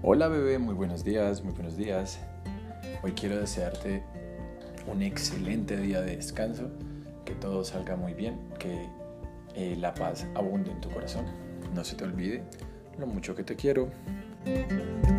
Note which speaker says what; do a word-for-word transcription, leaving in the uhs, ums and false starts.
Speaker 1: Hola bebé, muy buenos días, muy buenos días. Hoy quiero desearte un excelente día de descanso, que todo salga muy bien, que eh, la paz abunde en tu corazón. No se te olvide lo mucho que te quiero.